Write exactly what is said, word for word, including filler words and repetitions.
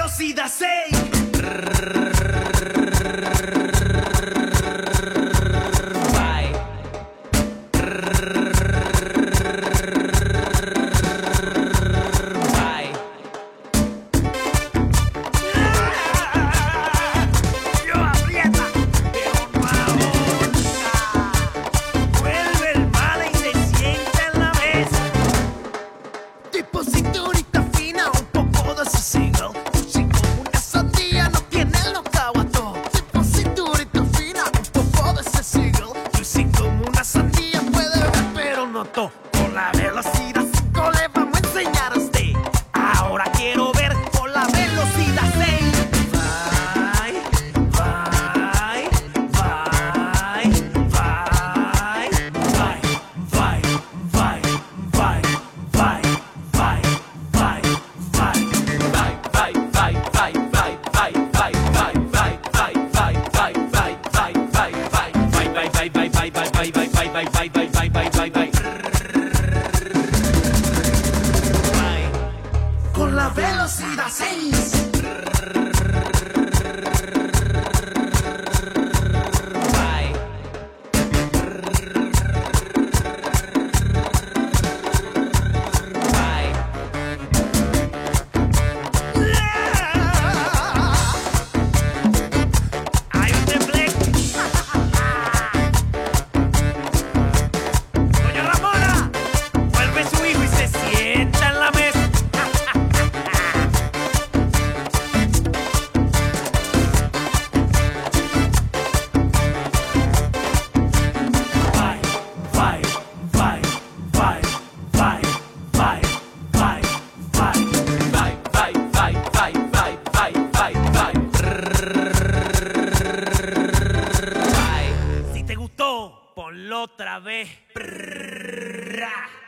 velocidad seis. Cinturita fina, un poco de ese single. Lucy como una sandía, no tiene los caguatos. Tipo cinturita fina, un poco de ese single. Lucy como una sandía, puede ver pero no to. Con la velocidad cinco le vamos a enseñar a usted. Ahora quiero ver con la velocidad seis. Vai, vai, vai, vai, vai, vai, vai, vai, vai. Con la velocidad seis. Si te gustó, ponlo otra vez.